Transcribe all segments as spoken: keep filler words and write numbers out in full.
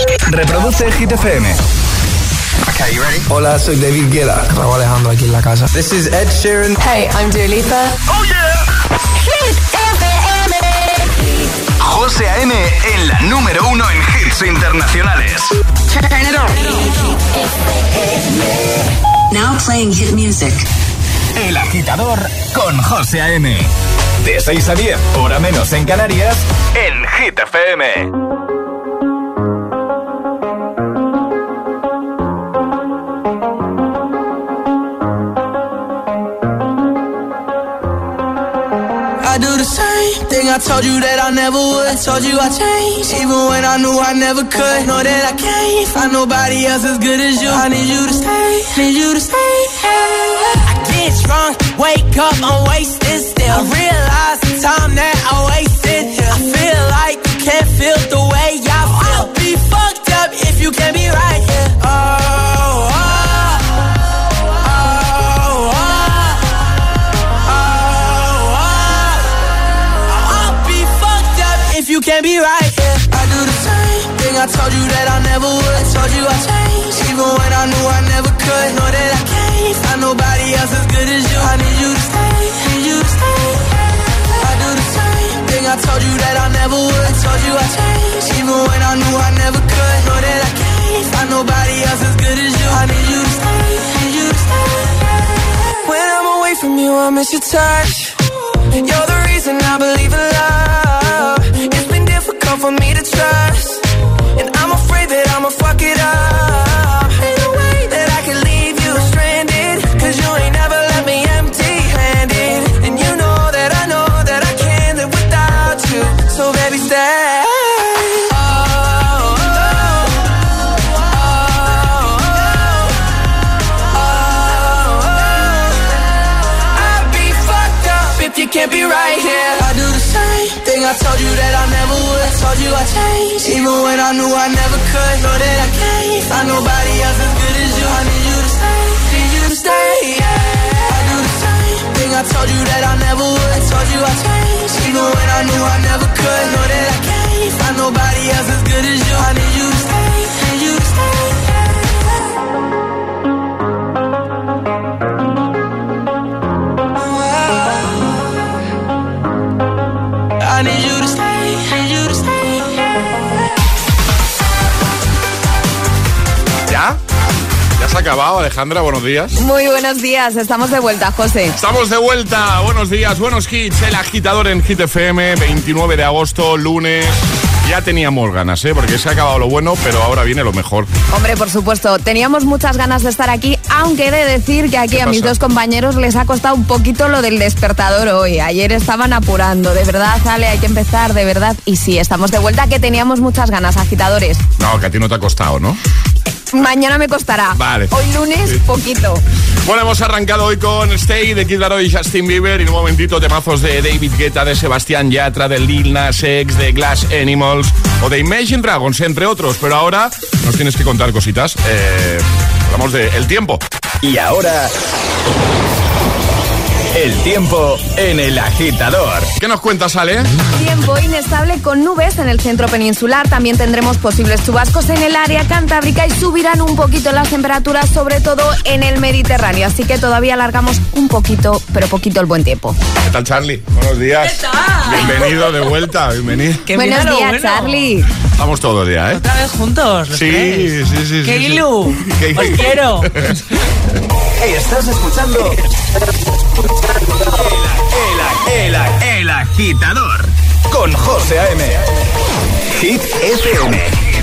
Reproduce Hit F M. Okay, you ready? Hola, soy David Guetta. Raúl Alejandro aquí en la casa. This is Ed Sheeran. Hey, I'm Dua Lipa. Oh yeah. Hit F M. José A.M. en la número uno en hits internacionales. Turn it on. Now playing hit music. El Agitador con José A.M. De seis a diez, hora menos en Canarias, en Hit F M. I do the same thing I told you that I never would. I told you I changed, even when I knew I never could. Know that I can't find nobody else as good as you. I need you to stay, need you to stay. I get drunk, wake up, I'm wasted still. I realize the time that I wasted here. I feel like you can't feel the way I feel. I'll be fucked up if you can't be right here. Oh, oh. You can't be right, yeah. I do the same thing I told you that I never would. I told you I changed, even when I knew I never could. Know that I can't find nobody else as good as you. I need you to stay, need you to stay. I do the same thing I told you that I never would. I told you I changed, even when I knew I never could. Know that I can't find nobody else as good as you. I need you to stay, need you to stay. When I'm away from you, I miss your touch. You're the reason I believe in love. It's been difficult for me to trust, and I'm afraid that I'ma fuck it up. Ain't no way that I can leave you stranded, cause you ain't never left me empty-handed. And you know that I know that I can't live without you. So baby, stay. Oh, oh, oh, oh, oh, oh. I'd be fucked up if you can't be right here. I do the same thing I told you that I never would. I told you I changed, even when I knew I never could. Know that I can't find nobody else as good as you. I need you to stay, need you to stay, yeah. I do the same thing I told you that I never would. I told you I changed, even when I knew I never could. Know that I can't find nobody else as good as you. I need you to stay, need you to stay, I need you to stay, need you to stay. ¿Ya? ¿Ya se ha acabado, Alejandra? Buenos días. Muy buenos días, estamos de vuelta, José. Estamos de vuelta, buenos días, buenos hits. El Agitador en Hit F M, veintinueve de agosto, lunes. Ya teníamos ganas, ¿eh? Porque se ha acabado lo bueno, pero ahora viene lo mejor. Hombre, por supuesto, teníamos muchas ganas de estar aquí, aunque he de decir que aquí a mis dos compañeros les ha costado un poquito lo del despertador hoy. Ayer estaban apurando, de verdad, Ale, hay que empezar, de verdad. Y sí, estamos de vuelta, que teníamos muchas ganas, agitadores. No, que a ti no te ha costado, ¿no? Mañana me costará. Vale. Hoy lunes, sí. Poquito. Bueno, hemos arrancado hoy con Stay de Kid Laroi y Justin Bieber. Y en un momentito temazos de David Guetta, de Sebastián Yatra, de Lil Nas X, de Glass Animals o de Imagine Dragons, entre otros. Pero ahora nos tienes que contar cositas. Eh, hablamos de el tiempo. Y ahora... el tiempo en El Agitador. ¿Qué nos cuentas, Ale? Tiempo inestable con nubes en el centro peninsular. También tendremos posibles chubascos en el área cantábrica y subirán un poquito las temperaturas, sobre todo en el Mediterráneo. Así que todavía alargamos un poquito, pero poquito el buen tiempo. ¿Qué tal, Charlie? Buenos días. ¿Qué tal? Bienvenido de vuelta, bienvenido. Qué Buenos días, bueno. Charlie. Estamos todos ya, ¿eh? Otra vez juntos, los Sí, tres. sí, sí. ¡Qué sí, ilu! sí. ¡Os quiero! Estás escuchando el, el, el, el Agitador con José A M. Hit F M,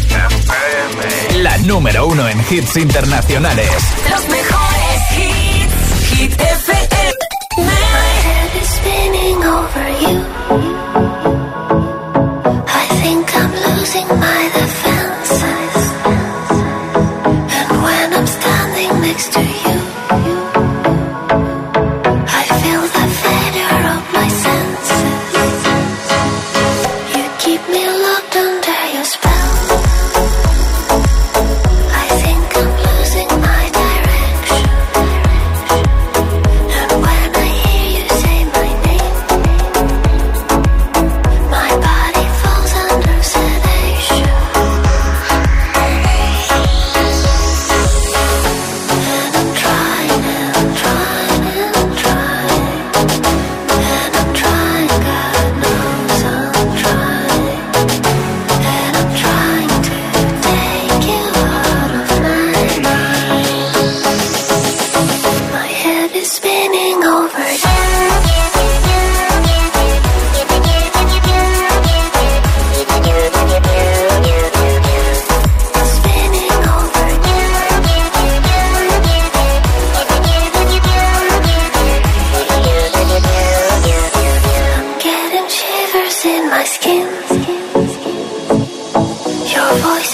la número uno en hits internacionales. Los mejores hits. Hit F M. My head is spinning over you. I think I'm losing my defenses. And when I'm standing next to you, I feel the failure of my senses. You keep me locked under your spell. I think I'm losing my direction.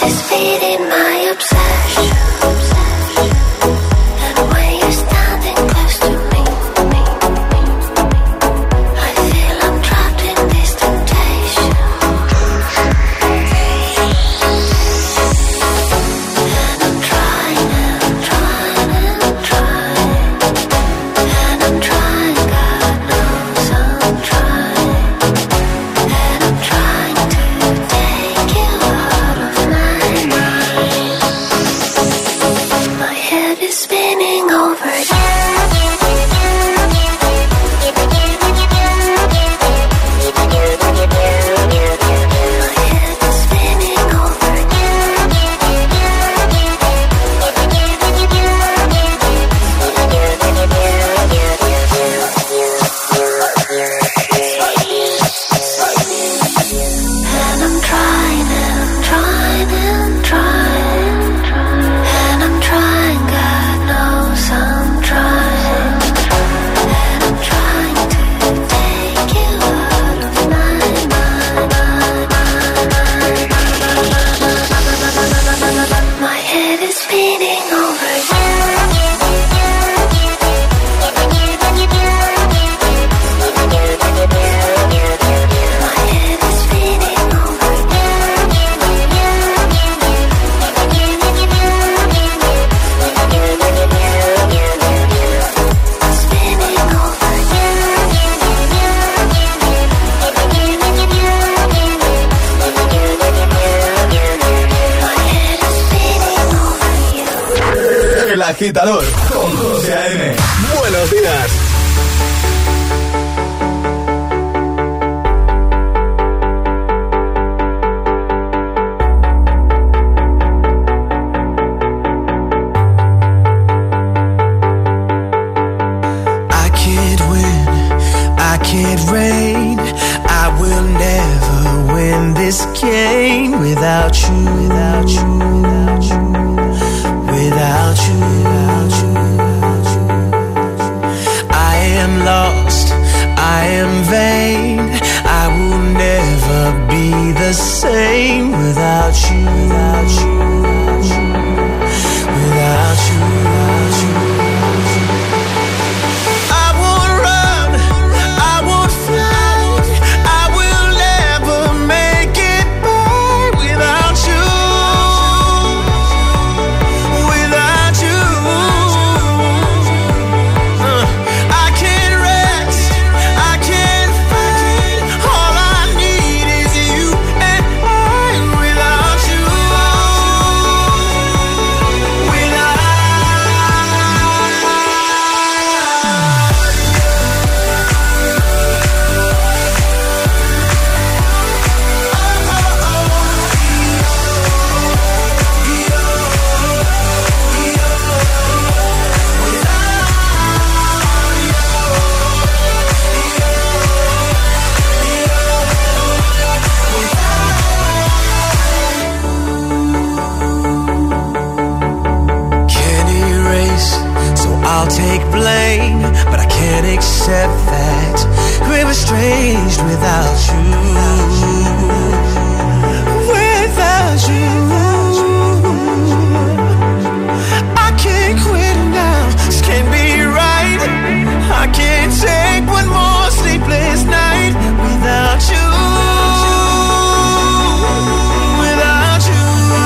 is feeding my obsession. And when you're standing close to me, I feel I'm trapped in this temptation. And I'm trying and I'm trying and I'm trying. And I'm trying, God knows I'm trying. And I'm trying to take you out of my mind. My head is spinning over you. And I'm trying and I'm trying and I'm trying. And I'm trying, God knows I'm trying. And I'm trying to take you out of my mind. My head is spinning over you. My head is spinning over you. Spinning over you. My head is spinning over you. El agitador con José A M. Buenos días. I can't win, I can't reign. I will never win this game without you, without you, without you, without you, without you. I am lost, I am vain. I will never be the same without you, without you, without you, without you. I won't run, I won't fly. I will never make it by without you, without you. Uh, I can't rest, I can't fight. All I need is you and I without you, without. Can't erase, so I'll take blame, but I can't accept that we were estranged without you, without you. I can't quit now, this can't be right. I can't take one more sleepless night without you, without you.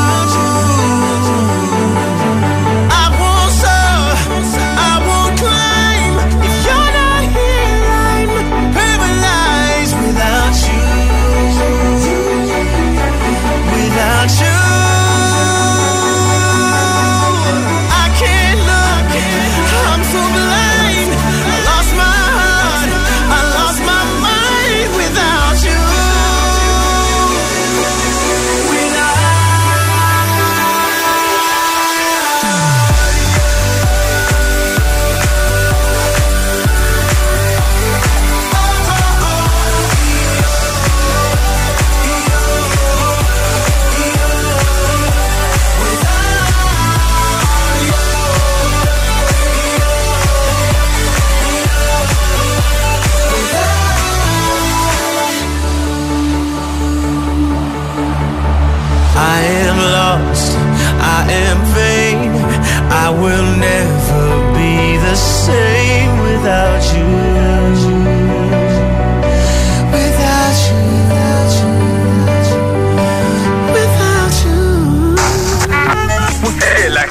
I won't soar, I won't climb. If you're not here, I'm paralyzed without you.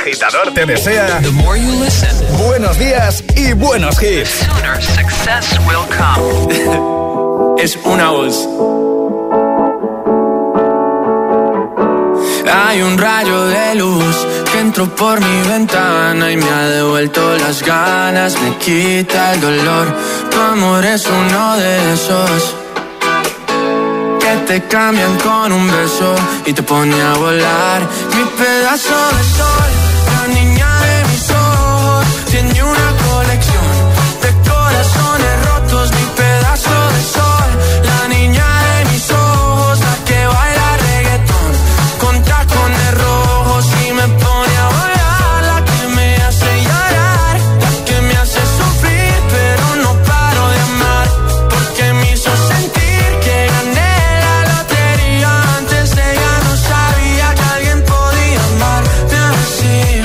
agitador te desea buenos días y buenos hits. Sooner success will come. Es una voz. Hay un rayo de luz que entró por mi ventana y me ha devuelto las ganas, me quita el dolor. Tu amor es uno de esos que te cambian con un beso y te pone a volar. Mi pedazo de sol, la niña de mis ojos, tiene una colección de corazones rotos. Mi pedazo de sol, la niña de mis ojos, la que baila reggaetón con tacones rojos y me pone a volar. La que me hace llorar, la que me hace sufrir, pero no paro de amar, porque me hizo sentir que gané la lotería. Antes de ella no sabía que alguien podía amarme así.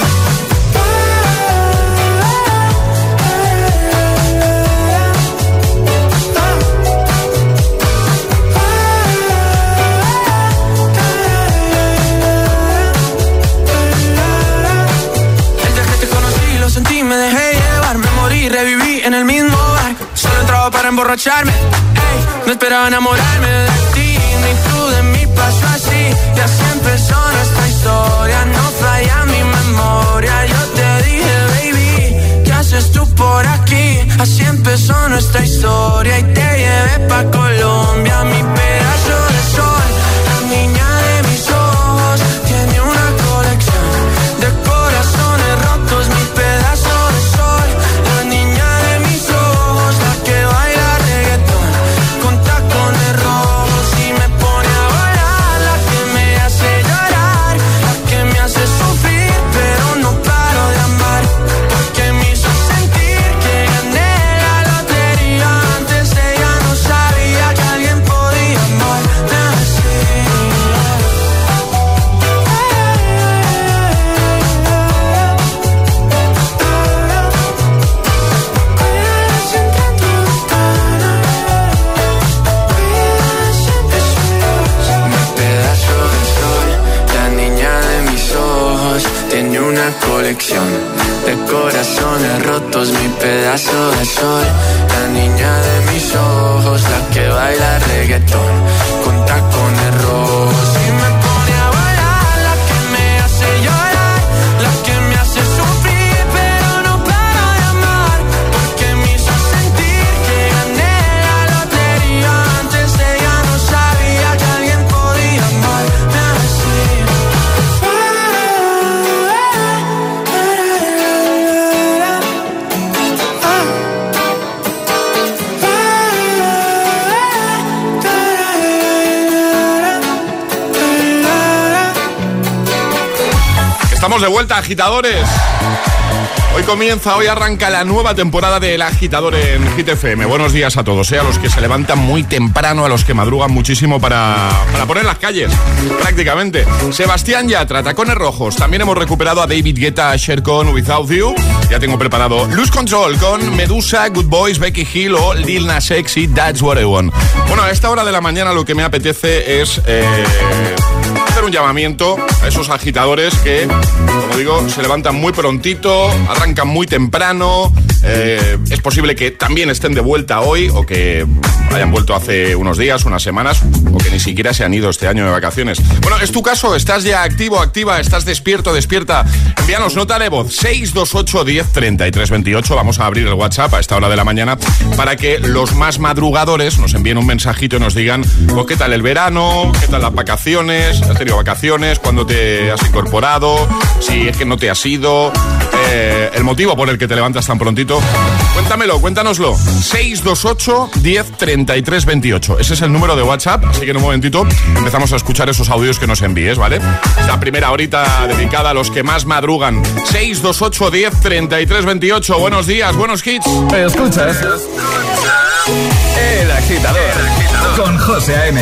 El día que te conocí lo sentí, me dejé llevar, me morí, reviví en el mismo bar. Solo entraba para emborracharme, ey, no esperaba enamorarme de ti, ni tú de mí pasó así. Y así empezó nuestra historia, no falla mi memoria. Yo te dije, baby, ¿qué haces tú por aquí? Así empezó nuestra historia y te llevé pa' Colombia. Mi pedazo de sol, la niña de mis ojos, tiene una colección de corazones rotos. Mi pedazo de sol, la niña de mis ojos, la que baila reggaetón con tacones rojos y me pone a volar. La que me hace llorar, la que me hace sufrir, pero no paro de amar, porque me hizo sentir que gané la lotería. Antes de ella no sabía que alguien podía amarme así. Mi pedazo de sol, la niña de mis ojos, tiene una colección de corazones rotos. Mi pedazo de sol, la niña de mis ojos, la que baila reggaetón con tacones rojos y me pone a volar. La que me hace llorar, la que me hace sufrir, pero no paro de amar, porque me hizo sentir que gané la lotería. Antes de ella no sabía que alguien podía amarme así. Estamos de vuelta, agitadores. Hoy comienza, hoy arranca la nueva temporada del Agitador en Hit F M. Buenos días a todos, ¿eh? A los que se levantan muy temprano, a los que madrugan muchísimo para, para poner las calles, prácticamente. Sebastián Yatra, Tacones Rojos. También hemos recuperado a David Guetta, Cher con Without You. Ya tengo preparado Lose Control con Medusa, Good Boys, Becky Hill o Lil Nas X y That's What I Want. Bueno, a esta hora de la mañana lo que me apetece es eh, hacer un llamamiento a esos agitadores que, como digo, se levantan muy prontito, arrancan muy temprano. Eh, es posible que también estén de vuelta hoy o que hayan vuelto hace unos días, unas semanas, o que ni siquiera se han ido este año de vacaciones. Bueno, ¿es tu caso? ¿Estás ya activo, activa? ¿Estás despierto, despierta? Envíanos nota de voz seis dos ocho, diez, treinta y tres veintiocho. Vamos a abrir el WhatsApp a esta hora de la mañana para que los más madrugadores nos envíen un mensajito y nos digan, pues, ¿qué tal el verano? ¿Qué tal las vacaciones? ¿Has tenido vacaciones? ¿Cuándo te has incorporado? Si es que no te has ido. Eh, el motivo por el que te levantas tan prontito. Cuéntamelo, cuéntanoslo. seis dos ocho, diez, treinta y tres veintiocho. Ese es el número de WhatsApp, así que en un momentito empezamos a escuchar esos audios que nos envíes, ¿vale? Esta primera horita dedicada a los que más madrugan. seis dos ocho, diez, treinta y tres veintiocho. Buenos días, buenos hits. Escuchas El Agitador, El Agitador. Con José A M.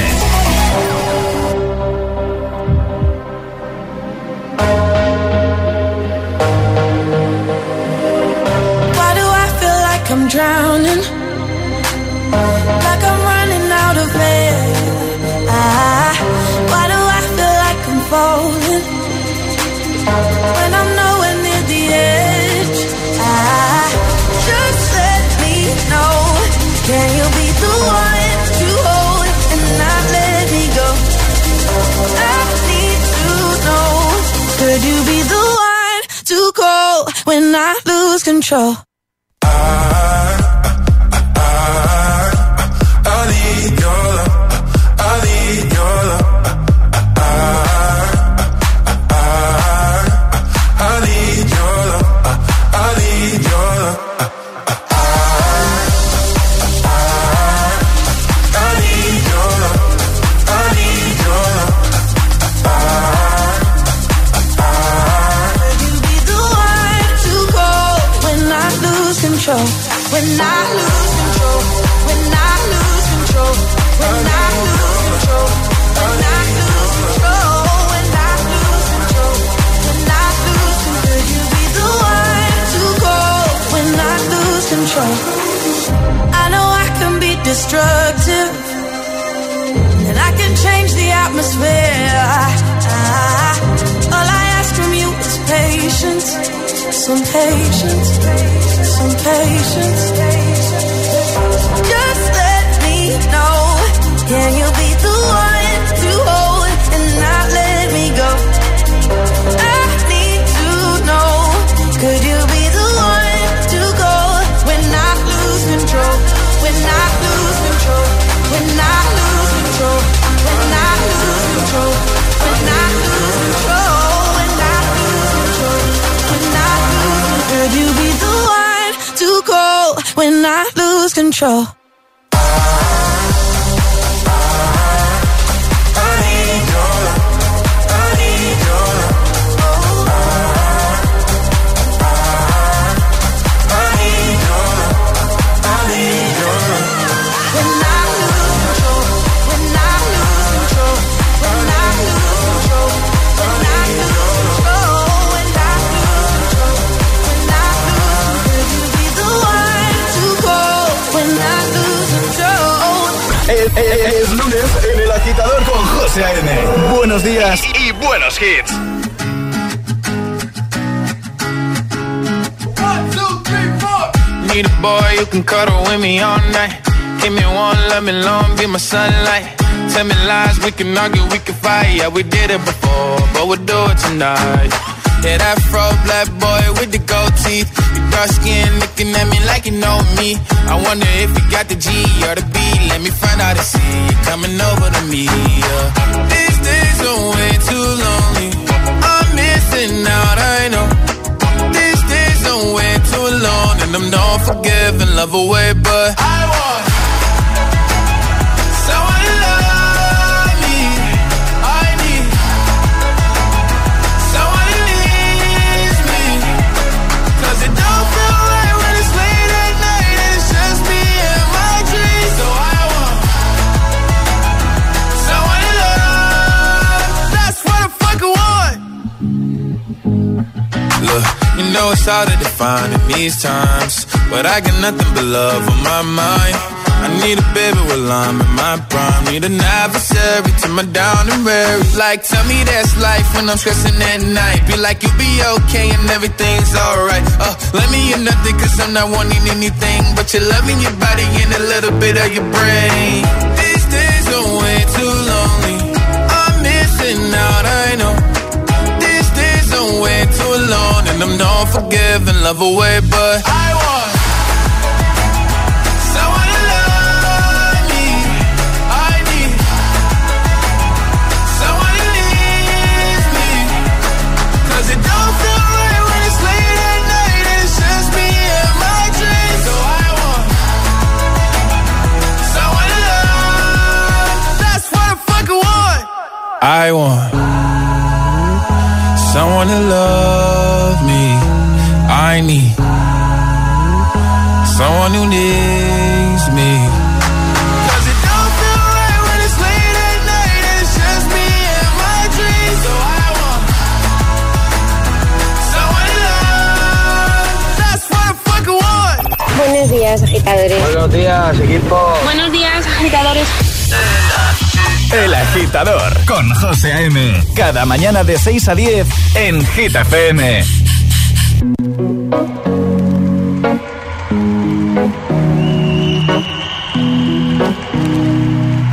I'm drowning, like I'm running out of air. Ah, why do I feel like I'm falling when I'm nowhere Could you be the one to call when I lose control? I, I, I, I need your love. I need your love. I, I, I need your love. I need your love. When I lose control, when I lose control, when I lose control, when I lose control, when I lose control, when I lose control, could you be the one to call when I lose control? I know I can be destructive, and I can change the atmosphere. I, all I ask from you is patience, some patience. Some patience. Just let me know. Can you be the one to hold and not let me go? I need to know. Could you be the one to go when I lose control? When I lose control. When I lose control. When I lose control. When I lose control. When I lose control. When I lose control. Could you be the one to go when I lose control? Es lunes en El Agitador con José A M. Buenos días y, y buenos hits. One, two, three, four. Need a boy who can cuddle with me all night. Give me one, let me long, be my sunlight. Tell me lies, we can argue, we can fight. Yeah, we did it before, but we'll do it tonight. Yeah, that fro black boy with the gold teeth. Your dark skin looking at me like you know me. I wonder if you got the G or the B. Let me find out and see you coming over to me. Yeah. These days are way too lonely. I'm missing out, I know. These days are way too long, and I'm not forgiving, love away, but I want someone to love me. I need someone who needs me. 'Cause it don't feel right when it's late at night and it's just me and my dreams. So I want someone to love. That's what the fuck I want. Look, you know it's hard to define in these times, but I got nothing but love on my mind. I need a baby while I'm in my prime. Need an adversary to my down and weary. Like, tell me that's life when I'm stressing at night. Be like, you'll be okay and everything's alright. Uh, let me in nothing 'cause I'm not wanting anything but your love in your body and a little bit of your brain. These days are way too lonely. I'm missing out, I know. These days are way too long, and I'm not forgiving, love away, but I want someone to love me. I need someone who needs me. 'Cause it don't feel right when it's late at night and it's just me and my dreams. So I want someone to love. That's what the fuck I want. I want someone to love me. I need someone who needs me. 'Cause it don't feel right when it's late at night and it's just me and my dreams. So I want someone to love. That's what the fuck I want. Buenos días, agitadores. Buenos días, equipo. Buenos días, agitadores. El Agitador con José A M. Cada mañana de seis a diez en Hit F M.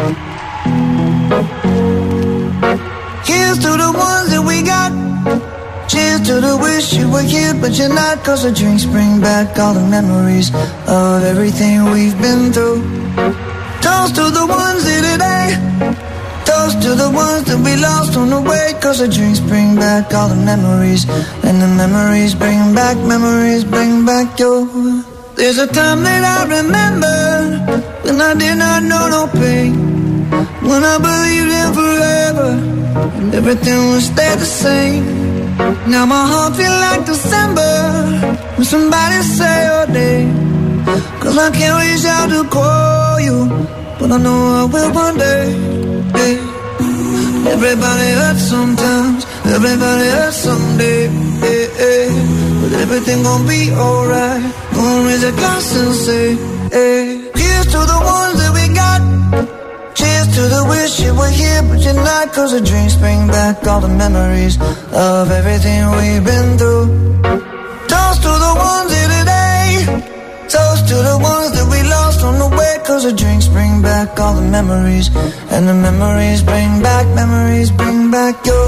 Here's to the ones that we got. Cheers to the wish you were here, but you're not. Cause the drinks bring back all the memories of everything we've been through. Toast to the ones here today. Toast to the ones that we lost on the way. Cause the drinks bring back all the memories. And the memories bring back, memories bring back your. There's a time that I remember when I did not know no pain. When I believed in forever and everything would stay the same. Now my heart feel like December when somebody say your name. Cause I can't reach out to call you, but I know I will one day. Yeah. Everybody hurts sometimes, everybody hurts someday. Yeah, yeah. But everything gon' be alright. Gonna raise a glass and say, hey. Here's to the ones that we got. Cheers to the wish you were here, but you're not. Cause the drinks bring back all the memories of everything we've been through. Toast to the ones here today. Toast to the ones that we lost on the way. Cause the drinks bring back all the memories. And the memories bring back, memories bring back your.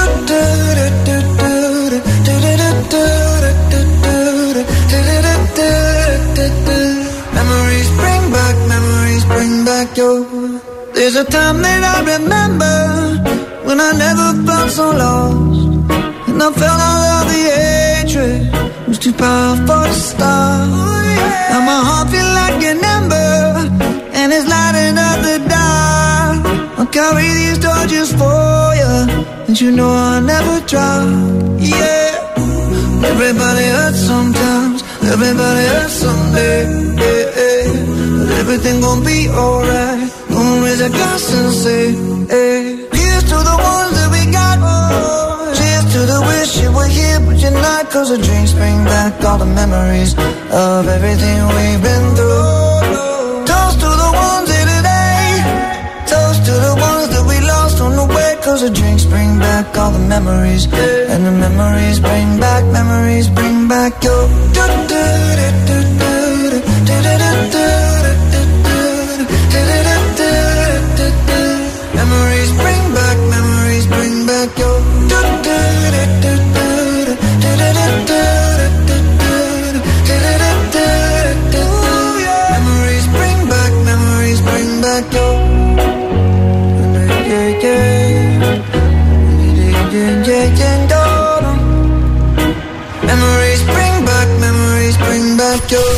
Memories bring back, memories bring back your. There's a time that I remember when I never felt so lost. And I felt all of the hatred was too powerful to stop. Now my heart feel like an ember and it's lighting up the dark. I'll carry these torches for you, and you know I'll never drop. Yeah. Everybody hurts sometimes, everybody hurts someday. Yeah, yeah. But everything gon' be alright. Gonna raise a glass and say, hey. Here's to the ones that we got. Oh, cheers to the wish you were here, but you're not. Cause the drinks bring back all the memories of everything we've been through. Toast to the ones here today. Toast to the ones that we lost on the way. Cause the drinks bring back all the memories. And the memories bring back, memories bring back your. Memories bring back, memories bring back your. Memories bring back, memories bring back your. Yeah, yeah, yeah, yeah, yeah. Memories bring back, memories bring back your.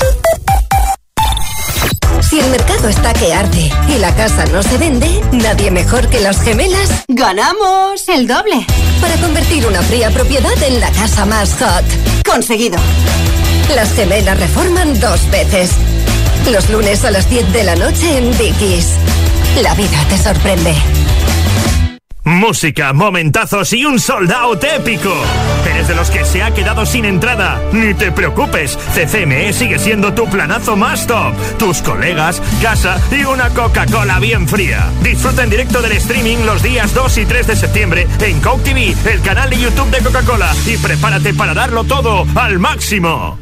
Si el mercado está que arde y la casa no se vende, nadie mejor que las gemelas ganamos el doble para convertir una fría propiedad en la casa más hot. Conseguido. Las gemelas reforman dos veces. Los lunes a las diez de la noche en Dickies. La vida te sorprende. Música, momentazos y un sold out épico. ¿Eres de los que se ha quedado sin entrada? Ni te preocupes, C C M E sigue siendo tu planazo más top. Tus colegas, casa y una Coca-Cola bien fría. Disfruta en directo del streaming los días dos y tres de septiembre en Coke T V, el canal de YouTube de Coca-Cola. Y prepárate para darlo todo al máximo.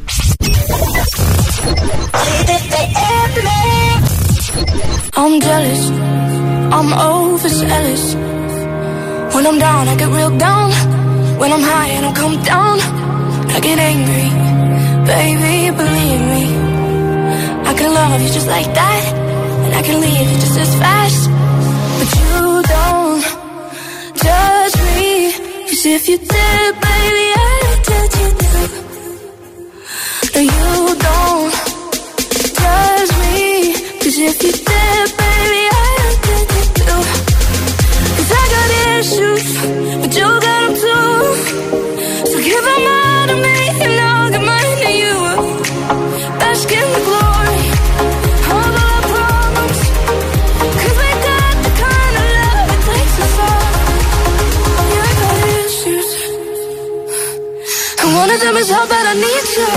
I'm jealous, I'm overzealous. When I'm down, I get real down. When I'm high and I come down, I get angry. Baby, believe me, I can love you just like that, and I can leave you just as fast. But you don't judge me, 'cause if you did, baby, I'd judge you too. No, you don't judge me, 'cause if you did, baby, I'd judge you too. I got issues, but you got them too. So give them all to me, and I'll give mine to you. Bask in the glory of our problems, 'cause we got the kind of love that takes us far. Yeah, I got issues, and one of them is how bad I need you.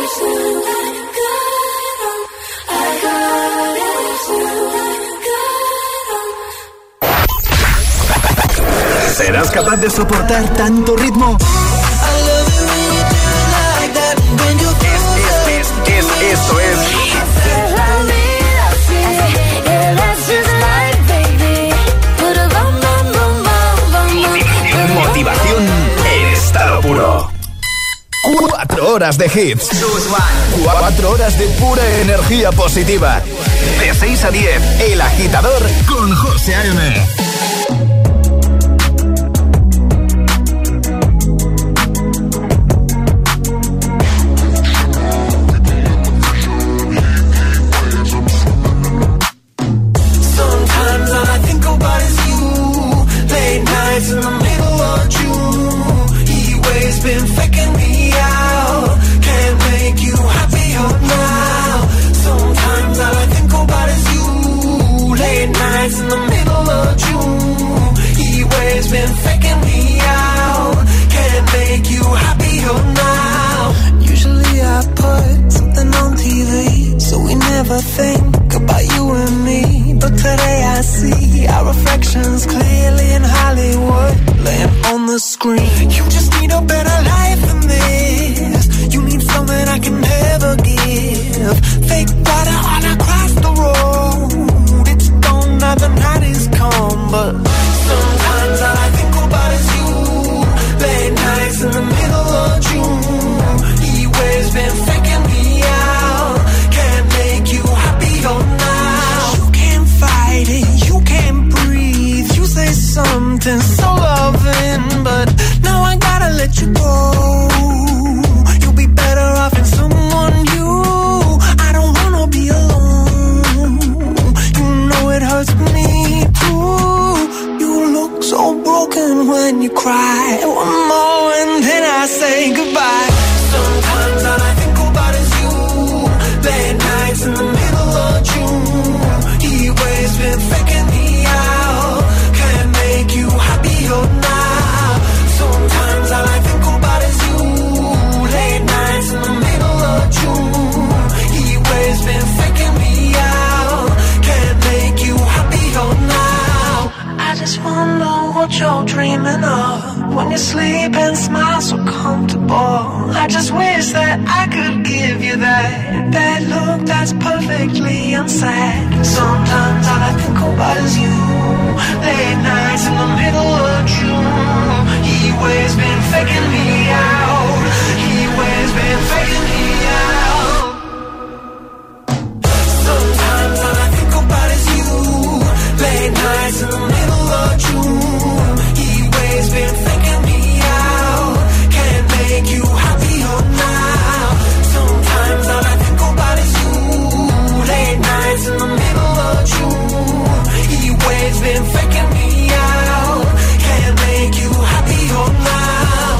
¿Serás capaz de soportar tanto ritmo? Es, es, es, esto es motivación en estado puro. Cuatro horas de hits. Cuatro horas de pura energía positiva. De seis a diez, El Agitador con José A M. Think about you and me, but today I see our reflections clearly in Hollywood, laying on the screen. You just need a better life than this. You need something I can never give. Fake water all across the road. It's gone now, the night is come, but sometimes all I think about is you. Late nights in the middle of June. He waves been faking me out. Can't make you happier now. You can't fight it, you can't breathe. You say something so loving, but now I gotta let you go. You'll be better off in someone new. I don't wanna be alone. You know it hurts me too. You look so broken when you cry. One more and then I say goodbye. Sometimes all I think about is you. Late nights in the middle of June. He waves been faking me out. Can't make you happier now. Sometimes all I think about is you. Late nights in the middle of June. He waves been faking me out. Can't make you happier now. I just wonder what you're dreaming of when you sleep and smile so comfortable. I just wish that I could give you that that look that's perfectly unsaid. Sometimes all I think about is you. Late nights in the middle of June. He waves been faking me out. He waves been faking me out. Sometimes all I think about is you. Late nights in the middle of June. He waves been faking me out. Can't make you happier now. Sometimes all I think about is you. Late nights in the middle of June. He waves been faking me out. Can't make you happier now.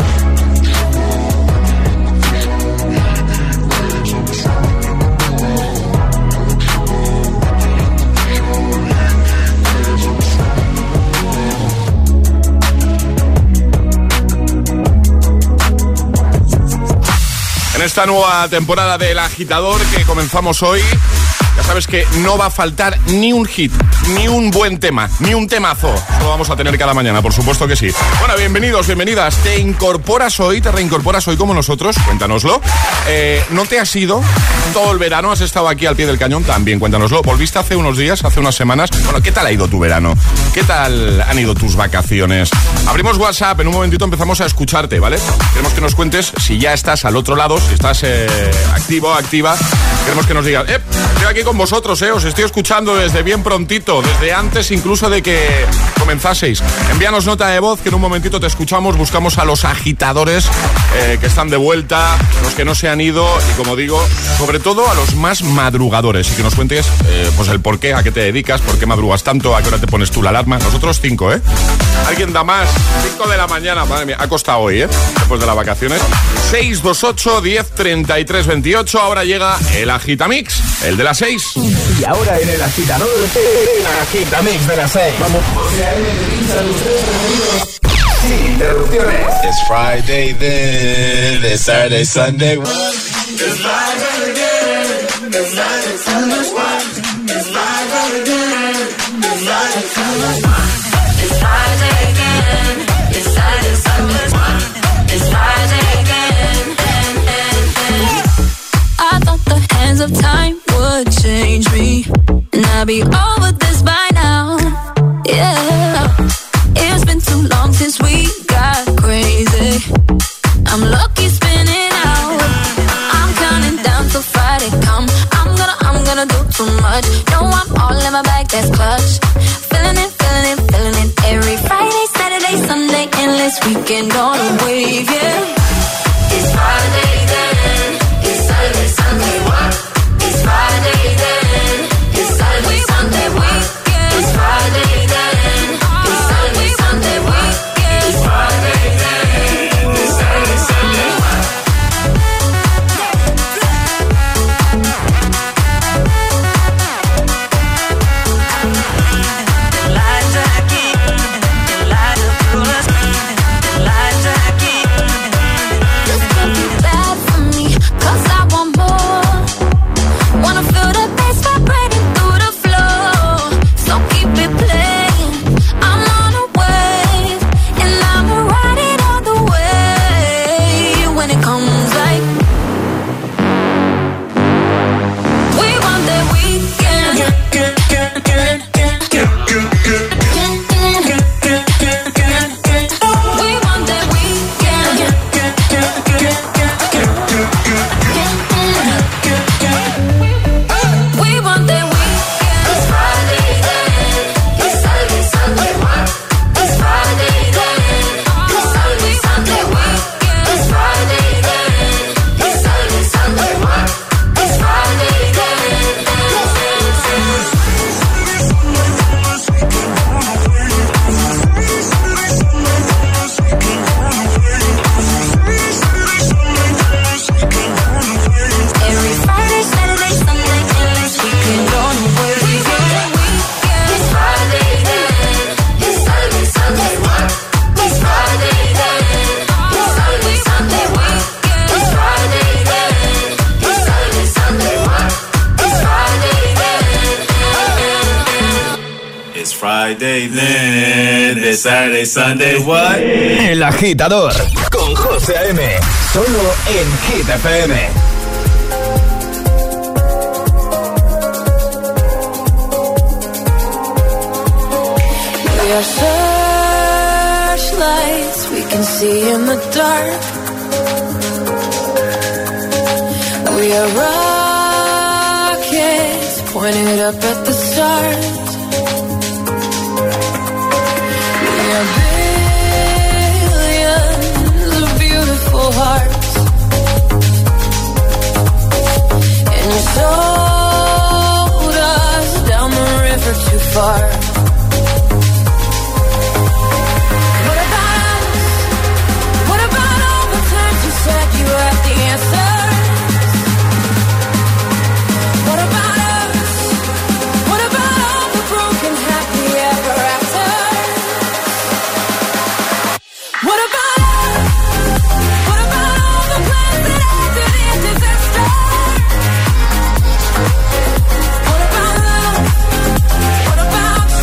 En esta nueva temporada del Agitador que comenzamos hoy, ya sabes que no va a faltar ni un hit, ni un buen tema, ni un temazo. Eso lo vamos a tener cada mañana, por supuesto que sí. Bueno, bienvenidos, bienvenidas. ¿Te incorporas hoy, te reincorporas hoy como nosotros? Cuéntanoslo. Eh, ¿No te has ido todo el verano? ¿Has estado aquí al pie del cañón? También, cuéntanoslo. ¿Volviste hace unos días, hace unas semanas? Bueno, ¿qué tal ha ido tu verano? ¿Qué tal han ido tus vacaciones? Abrimos WhatsApp, en un momentito empezamos a escucharte, ¿vale? Queremos que nos cuentes si ya estás al otro lado, si estás eh, activo, activa. Queremos que nos digas, eh, estoy aquí con vosotros, eh, os estoy escuchando desde bien prontito, desde antes incluso de que comenzaseis. Envíanos nota de voz, que en un momentito te escuchamos, buscamos a los agitadores eh, que están de vuelta, los que no se han ido y, como digo, sobre todo a los más madrugadores, y que nos cuentes eh, pues el por qué, a qué te dedicas, por qué madrugas tanto, a qué hora te pones tú la alarma. Nosotros cinco, ¿eh? ¿Alguien da más? cinco de la mañana, madre mía, ha costado hoy, ¿eh? Después de las vacaciones. seis dos ocho, diez, treinta y tres, veintiocho, ahora llega el Agitamix, el de las seis. Y ahora en el Agitador, el Agitamix de las seis. Vamos. Sin interrupciones. It's Friday then, it's Saturday, Sunday. It's Friday again. It's Friday, Sunday, it's Friday again. It's Friday, Sunday, it's Friday again. It's Friday, Sunday, it's Friday again. I thought the hands of time would change me, and I'd be over this by now. Yeah, it's been too long since we got crazy. I'm lucky spinning out. I'm counting down till Friday come. I'm gonna, I'm gonna do too much. No, I'm all in my bag, that's clutch. Feeling it, feeling it, feeling it. Every Friday, Saturday, Sunday, endless weekend on a wave, yeah. It's Friday then. It's Saturday, Sunday, what? It's Friday then. It's Saturday, Sunday, what? It's Friday then. It's Saturday, Sunday, what? It's Friday then. It's Saturday, Sunday, what? Saturday, Sunday, what? El Agitador con José A M. Solo en Hit F M. We are searchlights we can see in the dark. We are rockets pointed up at the stars. Billions of beautiful hearts, and you sold us down the river too far. What about us? What about all the times you said you had the answers? What about us? What about all the broken happy ever after? What about us? What about all the plans that ended in disaster? What about us? What about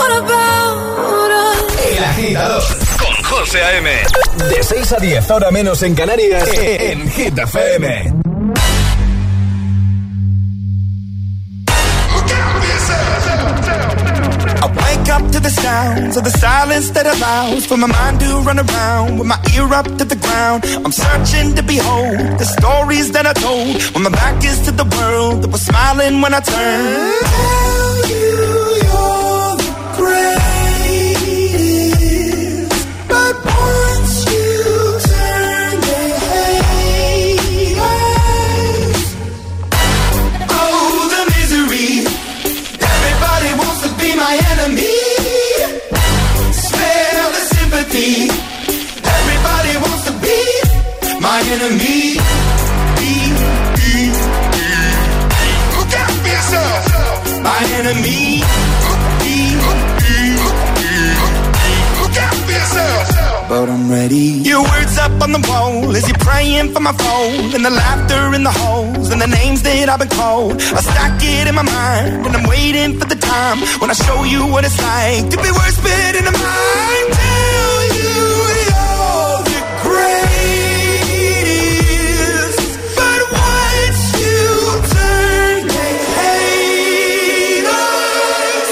What about us? El Agitador con José A M. De seis a diez, hora menos en Canarias, en Hit F M. I wake up to the sounds of the silence that allows for my mind to run around with my ear up to the ground. I'm searching to behold the stories that I told when my back is to the world that was smiling when I turned. Tell you you're the greatest, but once you turn they hate us. Oh, the misery. Everybody wants to be my enemy. Smell the sympathy. Everybody wants to be my enemy. Be, be, be. Look out for yourself. My enemy. Be, be, be. Look out for yourself. But I'm ready. Your words up on the wall as you're praying for my phone, and the laughter in the holes and the names that I've been called. I stack it in my mind and I'm waiting for the time when I show you what it's like to be worse fit in the mind. Tell you you're the greatest, but once you turn they hate us.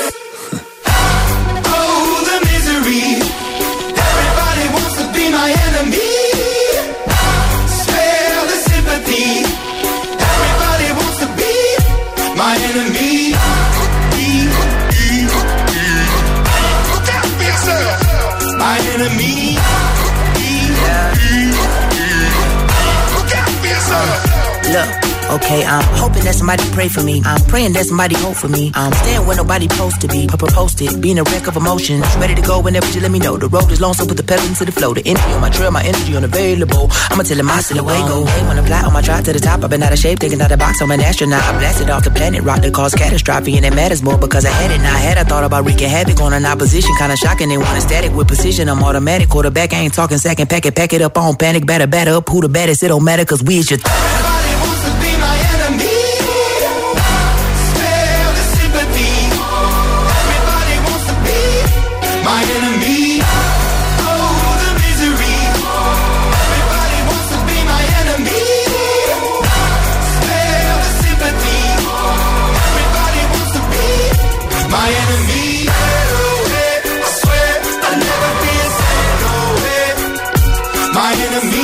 Oh, the misery. Everybody wants to be my enemy. Spare the sympathy. Everybody wants to be my enemy. Be, be, be. Look out for yourself. My enemy. Be, be, be. Look out for yourself. Look, okay, I'm hoping that somebody pray for me. I'm praying that somebody hope for me. I'm staying where nobody supposed to be. Papa posted, being a wreck of emotions. Ready to go whenever you let me know. The road is long, so put the pedal into the flow. The energy on my trail, my energy unavailable. I'ma tell him my silhouette go. Hey, when I fly on my drive to the top, I've been out of shape, thinking out the box. I'm an astronaut. I blasted off the planet, rock that caused catastrophe, and it matters more because I had it. Now I had I thought about wreaking havoc on an opposition, kinda shocking. They want static with precision. I'm automatic, quarterback. I ain't talking second. Pack it, pack it up on panic, batter, batter up. Who the baddest? It don't matter, cause we is your. Everybody wants to be my enemy. Spare the sympathy. Everybody wants to be my enemy. Oh, the misery. Everybody wants to be my enemy. Spare the sympathy. Everybody wants to be my enemy. I swear I'll never be a no way. My enemy.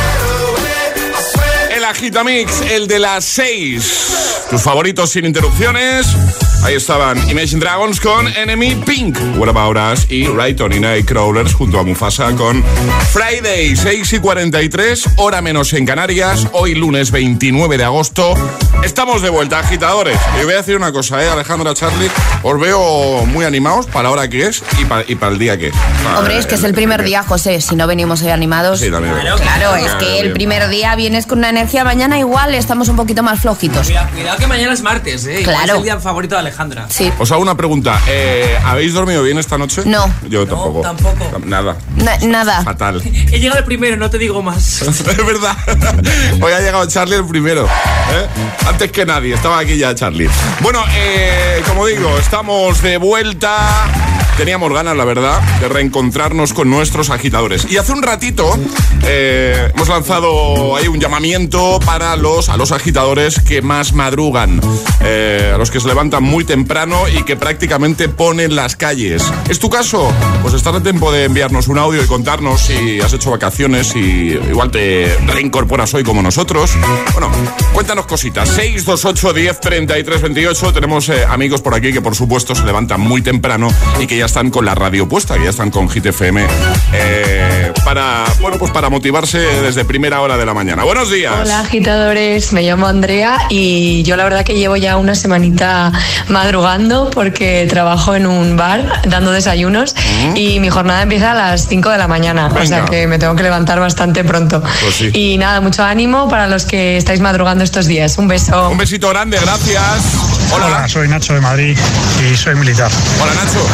El Agitamix, el de las seis. Tus favoritos sin interrupciones. Ahí estaban Imagine Dragons con Enemy, Pink, What About Us y Rayton y Nightcrawlers junto a Mufasa con Friday. Seis y cuarenta y tres, hora menos en Canarias. Hoy lunes veintinueve de agosto. Estamos de vuelta, agitadores. Y voy a decir una cosa, ¿eh, Alejandra, Charlie? Os veo muy animados para la hora que es y para, y para el día que es. Para Hombre, es que es el primer día, José. Si no venimos hoy animados. Sí, también. Claro, claro, es que el primer día vienes con una energía. Mañana igual estamos un poquito más flojitos. Cuidado, cuidado que mañana es martes, ¿eh? Igual Claro. es el día favorito de Alejandra. Sí. Os hago una pregunta. Eh, ¿Habéis dormido bien esta noche? No. Yo tampoco. No, tampoco. Nada. Na- nada. Fatal. He llegado el primero, no te digo más. Es verdad. Hoy ha llegado Charlie el primero, ¿eh? Antes que nadie. Estaba aquí ya Charlie. Bueno, eh, como digo, estamos de vuelta. Teníamos ganas, la verdad, de reencontrarnos con nuestros agitadores. Y hace un ratito eh, hemos lanzado ahí un llamamiento para los, a los agitadores que más madrugan, eh, a los que se levantan muy temprano y que prácticamente ponen las calles. ¿Es tu caso? Pues estás a tiempo de enviarnos un audio y contarnos si has hecho vacaciones y igual te reincorporas hoy como nosotros. Bueno, cuéntanos cositas. seis dos ocho, diez, treinta y tres, veintiocho. Tenemos eh, amigos por aquí que por supuesto se levantan muy temprano y que ya están con la radio puesta, que ya están con Hit F M eh, para, bueno, pues para motivarse desde primera hora de la mañana. Buenos días. Hola agitadores, me llamo Andrea y yo la verdad que llevo ya una semanita madrugando porque trabajo en un bar dando desayunos uh-huh. y mi jornada empieza a las cinco de la mañana. Venga. O sea que me tengo que levantar bastante pronto. Pues sí. Y nada, mucho ánimo para los que estáis madrugando estos días. Un beso. Un besito grande, gracias. Hola. Hola, soy Nacho de Madrid y soy militar. Hola, Nacho. Hace poco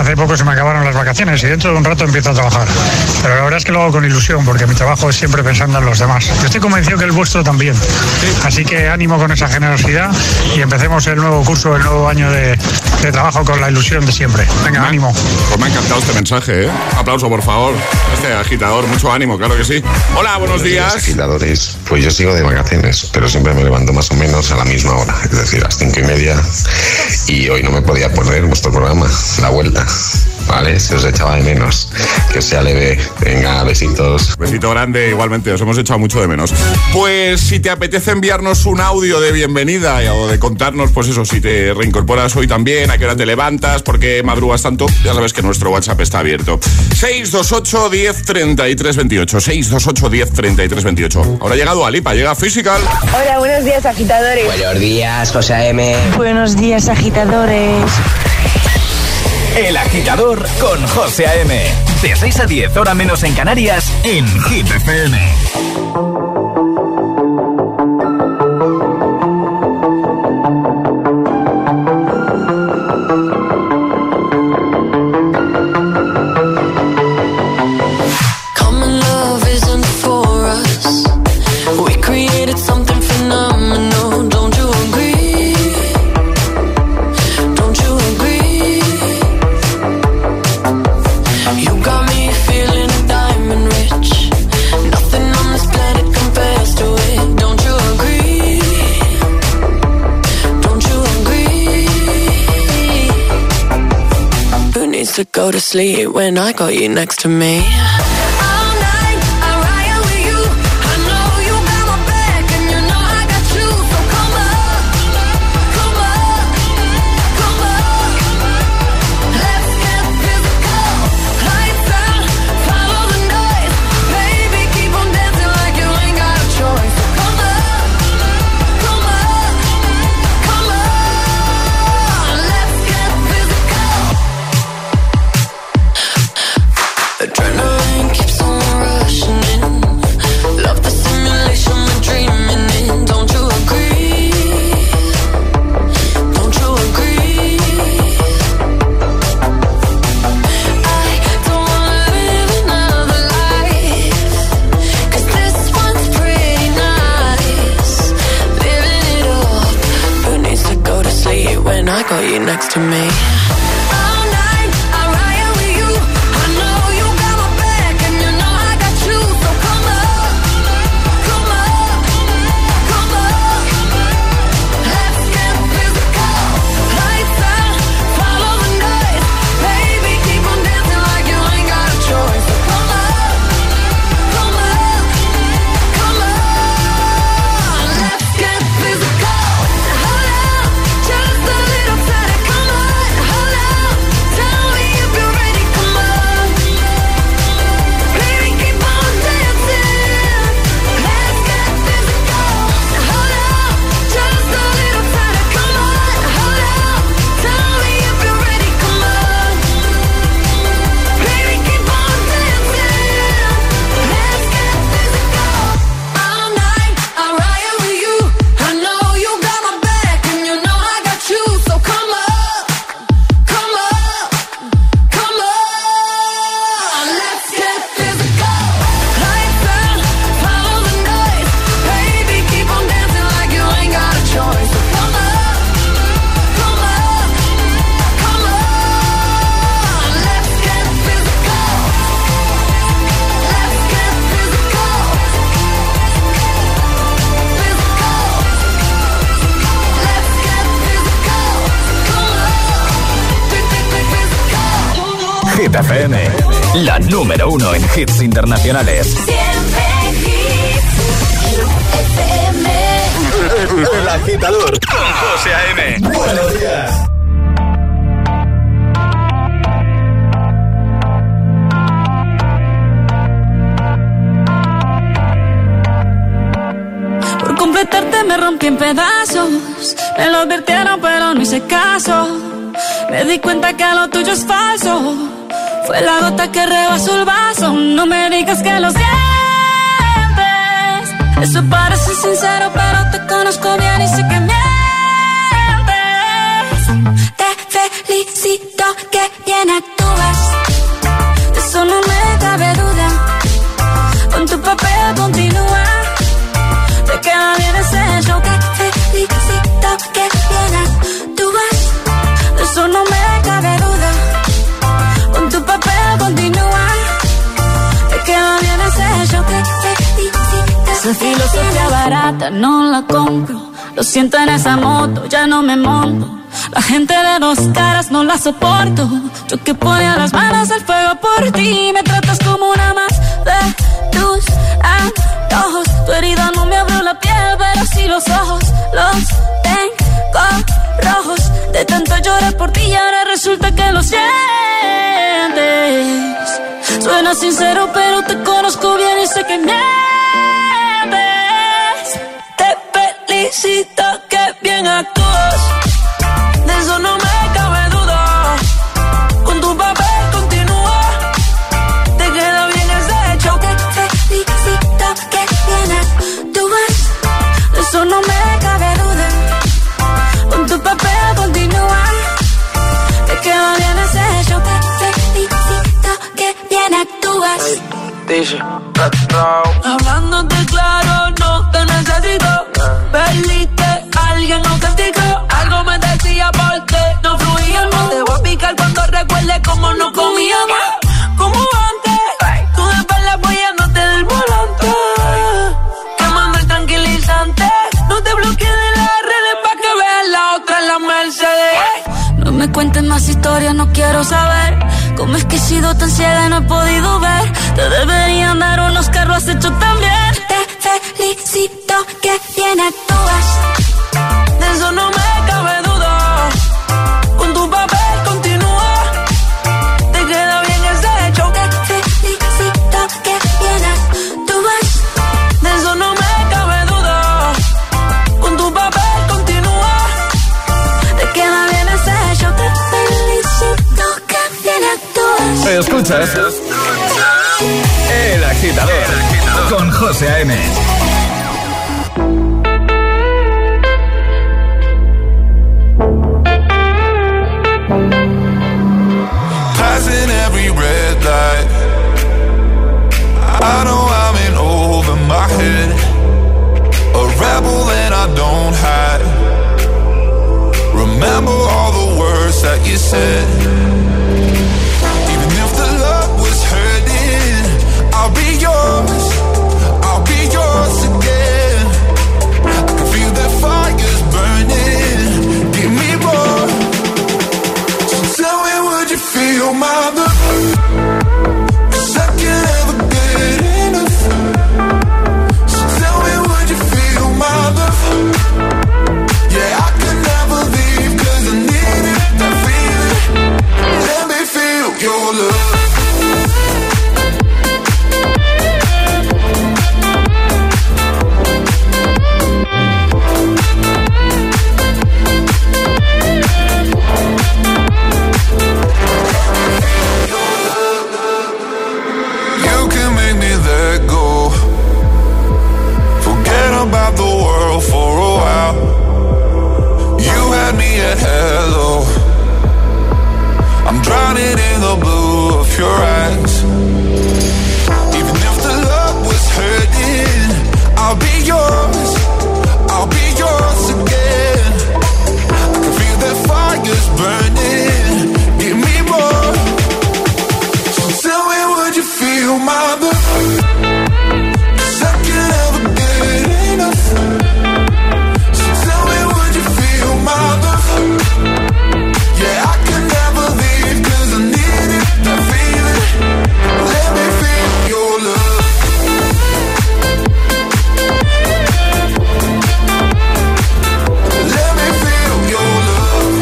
se me acabaron las vacaciones y dentro de un rato empiezo a trabajar. Pero la verdad es que lo hago con ilusión porque mi trabajo es siempre pensando en los demás. Yo estoy convencido que el vuestro también. Así que ánimo con esa generosidad y empecemos el nuevo curso, el nuevo año de, de trabajo con la ilusión de siempre. Venga, me, ánimo. Pues me ha encantado este mensaje, ¿eh? Un aplauso, por favor. Este agitador, mucho ánimo, claro que sí. Hola, buenos, buenos días. días. Agitadores, pues yo sigo de vacaciones, pero siempre me levanto más o menos a la misma hora, es decir, a las cinco y media. Y hoy no me podía poner vuestro programa, La Vuelta. Vale, se os echaba de menos. Que sea leve. Venga, besitos. Besito grande, igualmente, os hemos echado mucho de menos. Pues si te apetece enviarnos un audio de bienvenida o de contarnos, pues eso, si te reincorporas hoy también, a qué hora te levantas, por qué madrugas tanto, ya sabes que nuestro WhatsApp está abierto. seis dos ocho, diez, treinta y tres veintiocho. seis dos ocho, diez, treinta y tres veintiocho. Ahora ha llegado Alipa, llega Physical. Hola, buenos días, agitadores. Buenos días, José A M. Buenos días, agitadores. El Agitador con José A M. De seis a diez, hora menos en Canarias, en Hit F M. To go to sleep when I got you next to me. Next to me. Hit F M, la número uno en hits internacionales. El Agitador con José A M. Buenos días. Por completarte me rompí en pedazos. Me lo advirtieron pero no hice caso. Me di cuenta que lo tuyo es falso. Fue la gota que rebasó el vaso. No me digas que lo sientes. Eso parece sincero, pero te conozco bien y sé que mientes. Te felicito, que bien actúas. ya no la compro. Lo siento en esa moto, ya no me monto. La gente de dos caras no la soporto. Yo que ponía las manos al fuego por ti. Me tratas como una más de tus antojos. Tu herida no me abrió la piel, pero sí los ojos. Los tengo rojos. De tanto llorar por ti y ahora resulta que lo sientes. Suena sincero, pero te conozco bien y sé que mientes. Te felicito, que bien actúas. De eso no me cabe duda. Con tu papel continúa. Te queda bien ese hecho. Te felicito, que bien actúas. De eso no me cabe duda. Con tu papel continúa. Te queda bien ese hecho. Te felicito, que bien actúas. Dice, hablándote claro, no te necesito. Perdiste, alguien auténtico. Algo me decía porque no fluíamos. Te voy a picar cuando recuerde cómo no comíamos. Como antes, tú de espalda apoyándote del volante. Quemando el tranquilizante. No te bloquees de las redes pa' que veas la otra en la Mercedes. No me cuentes más historias, no quiero saber. ¿Cómo es que he sido tan ciega y no he podido ver? Te deberían dar un Oscar, lo has hecho tan bien. Te felicito, que bien actúas. De eso no me cabe duda. Con tu papel continúa. Te queda bien ese hecho. Te felicito, que bien actúas. De eso no me cabe duda. Con tu papel continúa. Te queda bien ese hecho. Te felicito, que bien actúas. Escuchas El Agitador con José A M. Passing every red light. I know I'm in over my head. A rebel and I don't hide. Remember all the words that you said. Even if the love was hurting, I'll be yours. I'll be yours again. I can feel the fires burning. Give me more. So tell me, would you feel my love? 'Cause I can't ever get enough. So tell me, would you feel my love? Yeah, I can never leave 'cause I need it, that feeling. Let me feel your love. You can make me let go. Forget about the world for a while. You had me at hello. I'm drowning in the blue of your eyes. Even if the love was hurting, I'll be yours. I'll be yours again. I can feel the fires burning. Give me more. So tell me, would you feel my love? 'Cause I can't ever get enough. So tell me, would you feel my love? Yeah, I can never leave 'cause I need it, that feeling. Let me feel your love. Let me feel your love.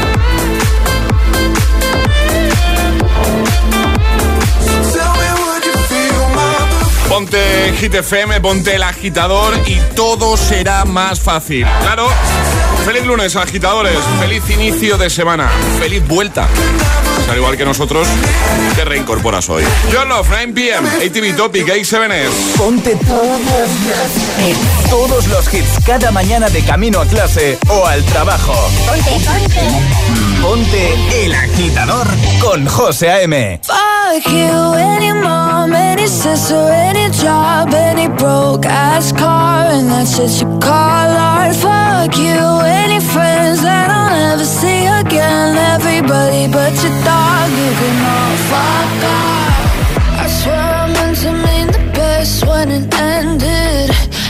So tell me, would you feel my love? Ponte Hit F M, ponte El Agitador y todo será más fácil. Claro. Feliz lunes, agitadores. Feliz inicio de semana. Feliz vuelta. Pues al igual que nosotros, te reincorporas hoy. John Love, nueve p m, A T V Topic, A siete S. Ponte todos los, todos los hits cada mañana de camino a clase o al trabajo. Ponte, ponte. Ponte El Agitador con José A M. Fuck you, any mom, any sister, any job, any broke ass car, and that's just you call art. Fuck you, any friends that I'll never see again. Everybody but your dog, you can all fuck off. I swear I meant to mean the best when it ended. Even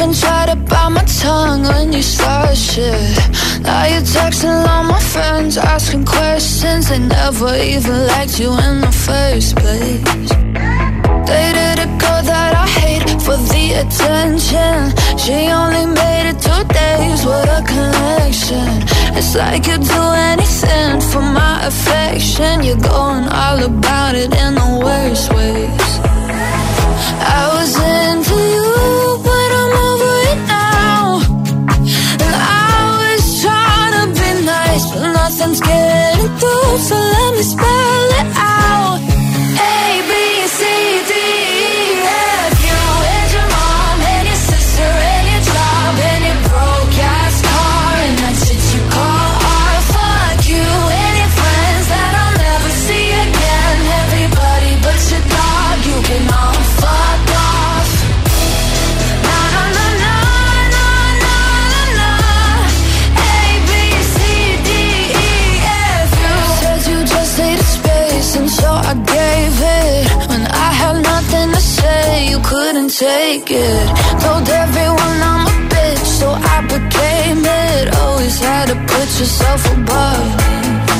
even try to bite my tongue when you start shit. Now you're texting all my friends, asking questions. They never even liked you in the first place. Dated a girl that I hate for the attention. She only made it two days with a connection. It's like you'd do anything for my affection. You're going all about it in the worst ways. I was into you, but I'm over it now. And I was trying to be nice, but nothing's getting through. So let me spell it out. A, B, C, D, E, F. You and your mom and your sister and your job and your broke-ass car and that shit you call art. Fuck you and your friends that I'll never see again. Everybody but your dog, you can all fuck off. Na na na na na na na na. A, B, C, D, E, F. You said you just needed space, and so I gave it. When I had nothing to say, you couldn't take it. Told everyone I'm a bitch, so I became it. Always had to put yourself above me.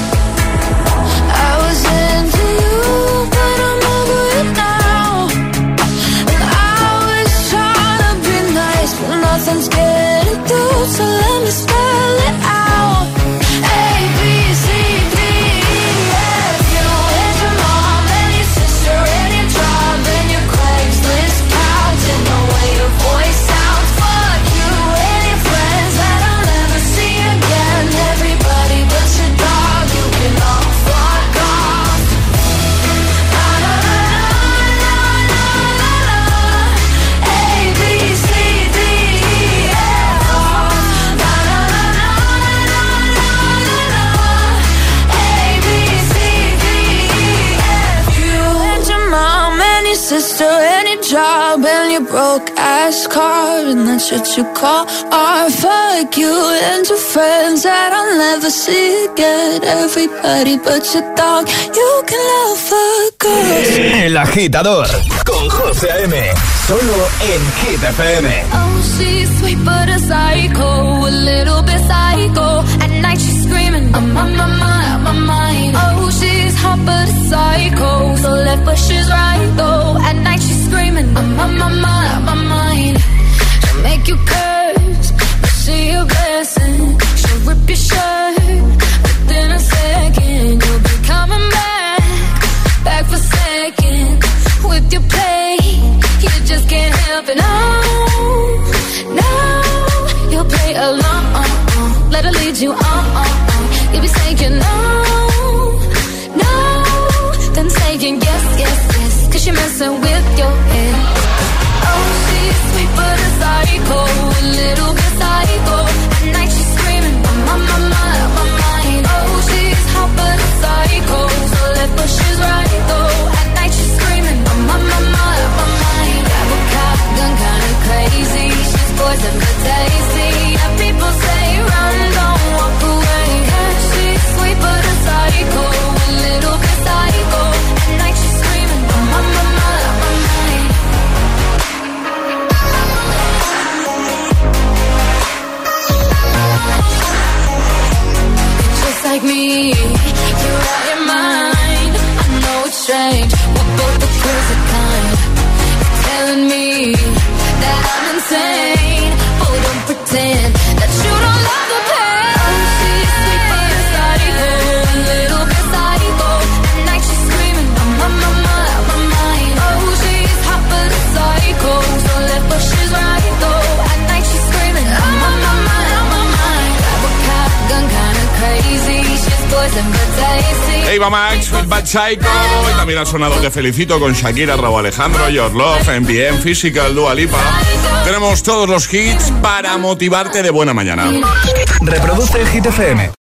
I was into you, but I'm over it now. And I was trying to be nice, but nothing's getting through. So let me spell it out. A, B, C, D, E, F. You and your mom and your sister and your job and your Craigslist couch and the way your voice sounds. Fuck you and your friends that I'll never see again. Everybody but your dog, you can all fuck off. Na na na na na na na. A, B, C, D, E, F. Na na na na na na na na. A, B, C, D, E, F. You and your mom and your sister and your job and your broke ass car and that shit you call art. Fuck you and your friends that I'll never see again. Everybody but your dog, you can love a girl. El Agitador con José A M. Solo en Hit F M. Oh, she's sweet but a psycho, a little bit psycho. At night she's screaming, I'm on my mind, on my mind. Oh, she's hot but a psycho, so left but she's right though. At night she's screaming, I'm on my mind, on my mind. She'll make you curse, but she a blessing. She'll rip your shirt within a second. You'll be coming back, back for second. With your play, you just can't help it. No, no, you'll play along. Let her lead you on. You'll be saying no, no, then saying yes, yes, yes. Cause you're messing with your head. Oh, she's sweet but a psycho, a little bit psycho. At night she's screaming, I'm on my mind, on my mind. Oh, she's hot but a psycho, so left but she's right though. At night she's screaming, I'm on my mind, on my mind. Grab a cop, gun kinda crazy. She's poison but tasty. And people say run, don't walk away. Cause she's sweet but a psycho, a little bit psycho. At night she's screaming, I'm on my mind, on my mind. Just like me, you're out your mind. I know it's strange, we're both the crazy kind. You're telling me that I'm insane. Oh, don't pretend that you don't love the pain. Oh, she's sweet but a psycho, a little bit psycho. At night she's screaming, I'm on my mind, on my mind. Oh, she's hot but a psycho, so left but she's right though. At night she's screaming, I'm on my mind, on my mind. Grab a cop, gun kinda crazy. She's poison but tasty. Eva Max, Sweet Bad Psycho. Y también ha sonado Te Felicito con Shakira, Rauw Alejandro, Your Love, M P M, Physical, Dua Lipa. Tenemos todos los hits para motivarte de buena mañana. Reproduce el Hit F M.